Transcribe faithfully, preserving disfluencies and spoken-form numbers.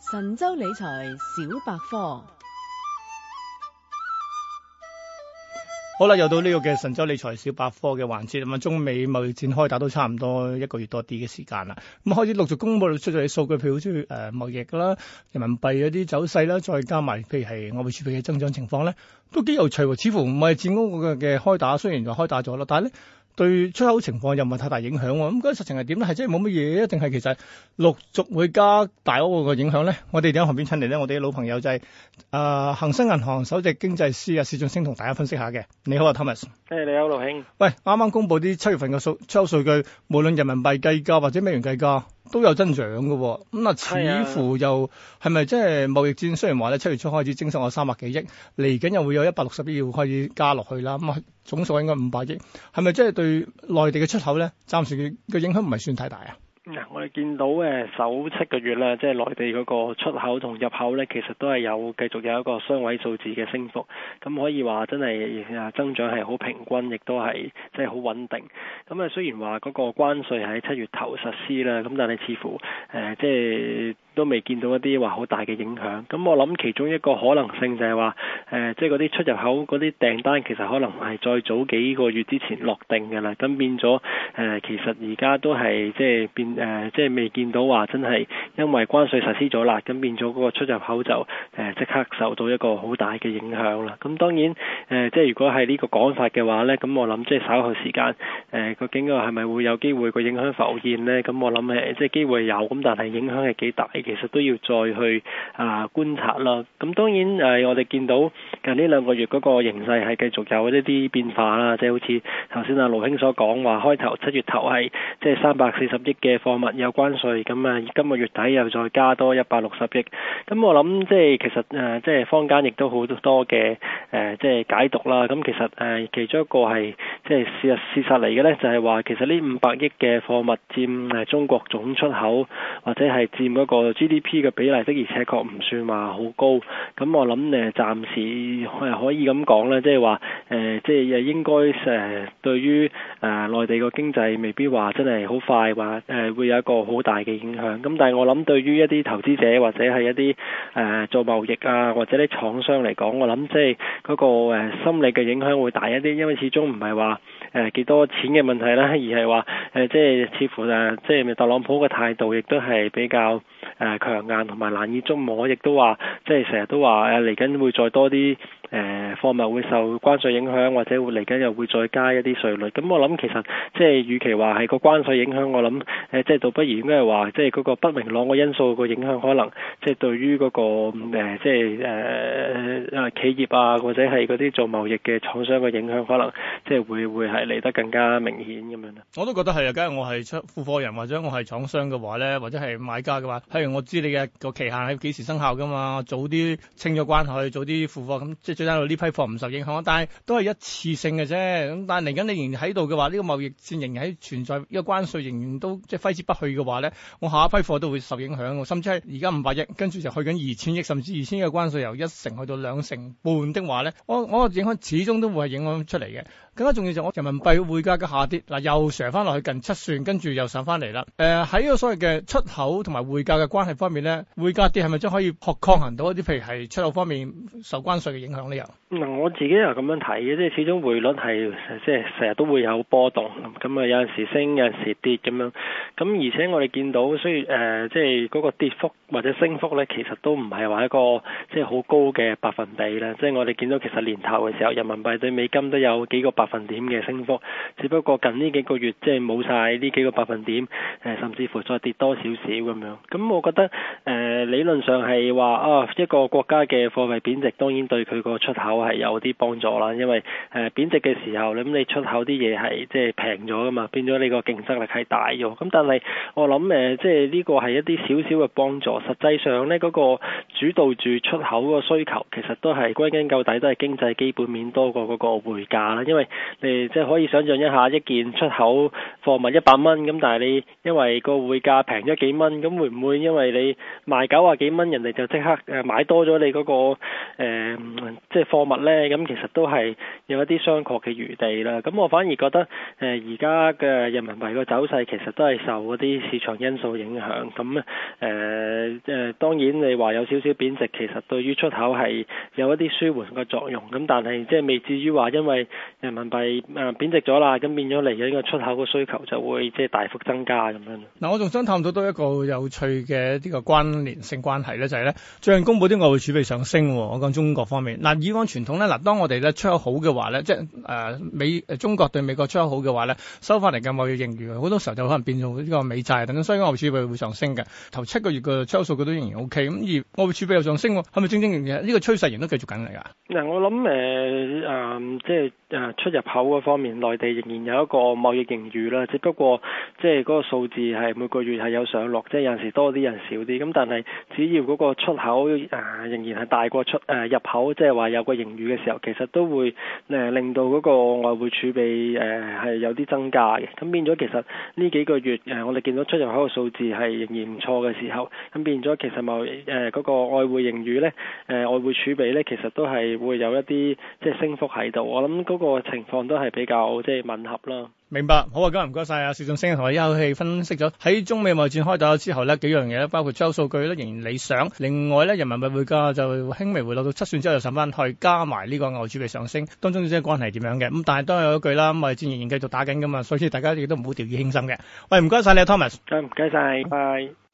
神州理財小百科。 好啦，又到呢個嘅神州理財小百科嘅環節，咁啊，中美貿易戰開打都差唔多一個月多啲嘅時間啦，咁開始陸續公布出咗啲數據，譬如好似誒貿易啦、人民幣嗰啲走勢啦，再加埋譬如係外匯儲備嘅增長情況咧，都幾有趣喎。似乎貿易戰嗰個嘅開打雖然就開打咗啦，但係咧對出口情況又唔係太大影響喎。咁嗰個實情係點咧？係真係冇乜嘢，定係其實陸續會加大嗰個影響咧？我哋喺旁邊請嚟咧，我哋嘅老朋友就係誒恒生銀行首席經濟師啊，薛俊昇同大家分析下嘅。你好啊 ，Thomas。 誒，你好，盧兄。 喂，啱啱公布啲七月份嘅數出口數據，無論人民幣計價或者美元計價都有增長嘅喎。咁啊，似乎又係咪即係貿易戰？雖然話咧七月初開始徵收咗三百幾億，嚟緊又會有一百六十億要開始加落去啦。咁啊，總數應該五百億，係咪即係對內地嘅出口咧，暫時嘅影響唔係算太大啊？ 嗱，我哋見到誒首七個月啦，即係內地嗰個出口同入口咧，其實都係有繼續有一個雙位數字嘅升幅，咁可以話真係誒增長係好平均，亦都係即係好穩定。咁啊，雖然話嗰個關稅喺七月頭實施啦，咁但係似乎誒即係都未見到一啲話好大嘅影響。咁我諗其中一個可能性就係話誒，即係嗰啲出入口嗰啲訂單其實可能係再早幾個月之前落定嘅啦，咁變咗誒、呃、其實而家都係即係變。誒、呃，即係未見到話真係因為關稅實施咗啦，咁變咗嗰個出入口就誒即、呃、刻受到一個好大嘅影響啦。咁當然誒、呃，即係如果係呢個講法嘅話咧，咁我諗即係稍後時間誒，究竟個係咪會有機會個影響浮現咧？咁我諗誒，即係機會有，咁但係影響係幾大，其實都要再去啊、呃、觀察啦。咁當然誒、呃，我哋見到近呢兩個月嗰個形勢係繼續有一啲變化啦，即係好似頭先阿盧兄所講話，開頭七月頭係即係三百四十億嘅貨物有關稅，咁啊今個月底又再加多一百六十億，咁我諗即係其實誒即係坊間亦都好多嘅誒即係解讀啦。咁其實誒其中一個係即係事實事實嚟嘅咧，就係話其實呢五百億嘅貨物佔誒中國總出口或者係佔嗰個 G D P 嘅比例的，而且確唔算話好高。咁我諗誒暫時係可以咁講咧，即係話誒即係應該誒對於誒內地個經濟未必話真係好快話誒會有一個好大嘅影響。咁但係我諗對於一啲投資者或者係一啲誒、呃、做貿易啊或者啲廠商嚟講，我諗即係嗰個誒、呃、心理嘅影響會大一啲，因為始終唔係話誒幾多錢嘅問題啦，而係話誒即係似乎誒即係特朗普嘅態度亦都係比較誒、呃、強硬同埋難以捉摸，亦都話即係成日都話誒嚟緊會再多啲誒貨物會受關稅影響，或者會嚟緊又會再加一啲稅率。咁我諗其實即係與其話係個關稅影響，我諗誒即係倒不如應該係話即係嗰個不明朗嘅因素個影響，可能即係對於嗰、那個誒即係誒誒企業啊或者係嗰啲做貿易嘅廠商嘅影響，可能即係會會係嚟得更加明顯咁樣啦。 我都覺得係啊，假如我係出付貨人或者我係廠商嘅話咧，或者係買家嘅話，譬如我知你嘅個期限係幾時生效噶嘛，早啲清咗關係，早啲付貨，咁即係最緊要呢批貨唔受影響。但係都係一次性嘅啫。咁但係嚟緊你仍然喺度嘅話，呢、這個貿易戰仍然喺存在，呢、這個關稅仍然都即係揮之不去嘅話咧，我下一批貨都會受影響。甚至係而家五百億，跟住就去緊二千億，甚至二千億嘅關稅由一成去到兩成半的話咧，我我個影響始終都會係影響出嚟嘅。更加重要就係我人民幣匯價嘅下跌，嗱又上翻落去近七算，跟住又上翻嚟啦。誒喺呢個所謂嘅出口同埋匯價嘅關係方面咧，匯價跌係咪真可以抗抗衡到一啲譬如係出口方面受關稅嘅影響呢？又嗱，我自己又咁樣睇嘅，即係始終匯率係即係成日都會有波動，咁啊有陣時升，有陣時跌咁樣。咁而且我哋見到，所以誒即係嗰個跌幅或者升幅咧，其實都唔係話一個即係好高嘅百分比啦。即係我哋見到其實年頭嘅時候，人民幣對美金都有幾個百分點嘅升幅，只不過近呢幾個月即係冇晒呢幾個百分點，誒甚至乎再跌多少少咁樣。咁我覺得誒、呃、理論上係話啊一個國家嘅貨幣貶值，當然對佢個出口係有啲幫助啦。因為誒、呃、貶值嘅時候，咁你出口啲嘢係即係平咗噶嘛，變咗你個競爭力係大咗。咁但係我諗誒即係呢個係一啲少少嘅幫助。實際上咧，嗰、那個主導住出口個需求，其實都係歸根究底都係經濟基本面多過嗰個匯價啦。因為你即係可以想象一下，一件出口貨物一百蚊，咁但係你因為個匯價平咗幾蚊，咁會唔會因為你賣九啊幾蚊，人哋就即刻誒買多咗你嗰、那個誒、呃、即係貨物呢？咁其實都係有一啲商榷嘅餘地啦。咁我反而覺得誒而家嘅人民幣個走勢其實都係受嗰啲市場因素影響。咁誒誒當然你話有少少貶值，其實對於出口係有一啲舒緩嘅作用。咁但係即係未至於話因為人民幣誒貶值咗啦，咁變咗嚟嘅呢個出口嘅需求就會即係大幅增加咁樣。 嗱，我仲想探討到一個有趣嘅呢個關聯性關係咧，就係咧最近公布啲外匯儲備上升。我講中國方面，嗱以往傳統咧，嗱當我哋咧出口好嘅話咧，即係誒、呃、美誒中國對美國出口好嘅話咧，收翻嚟嘅貿易盈餘好多時候就可能變做呢個美債等等，所以外匯儲備會上升嘅。頭七個月嘅出口數據都仍然 O K，咁而外匯儲備又上升，係咪正正呢、這個趨勢仍都繼續緊嚟㗎？嗱， 我諗誒誒即係誒出入口嗰方面，內地仍然有一個貿易盈餘啦，只不過即係嗰個數字係每個月係有上落，即係有陣時多啲，有陣時少啲。咁但係只要嗰個出口誒、呃、仍然係大過出誒、呃、入口，即係話有個盈餘嘅時候，其實都會誒、呃、令到嗰個外匯儲備誒係、呃、有啲增加嘅。咁變咗其實呢幾個月誒、呃、我哋見到出入口嘅數字係仍然唔錯嘅時候，咁變咗其實貿易誒嗰個外匯盈餘咧誒、呃、外匯儲備咧，其實都係會有一啲即係升幅喺度。我諗嗰個情況都係比較即係吻合啦。 明白，好啊，今日唔該晒啊，薛俊昇同我一口氣分析咗喺中美貿易戰開打之後呢幾樣嘢咧，包括出口數據咧仍然理想，另外咧人民幣匯價就輕微回落到七算之後又上翻去，加埋呢個外匯儲備上升，當中之間關係係點樣嘅？咁但係都係有一句啦，貿易戰仍然繼續打緊噶嘛，所以大家亦都唔好掉以輕心嘅。喂，唔該晒你啊 Thomas， 唔該晒，拜。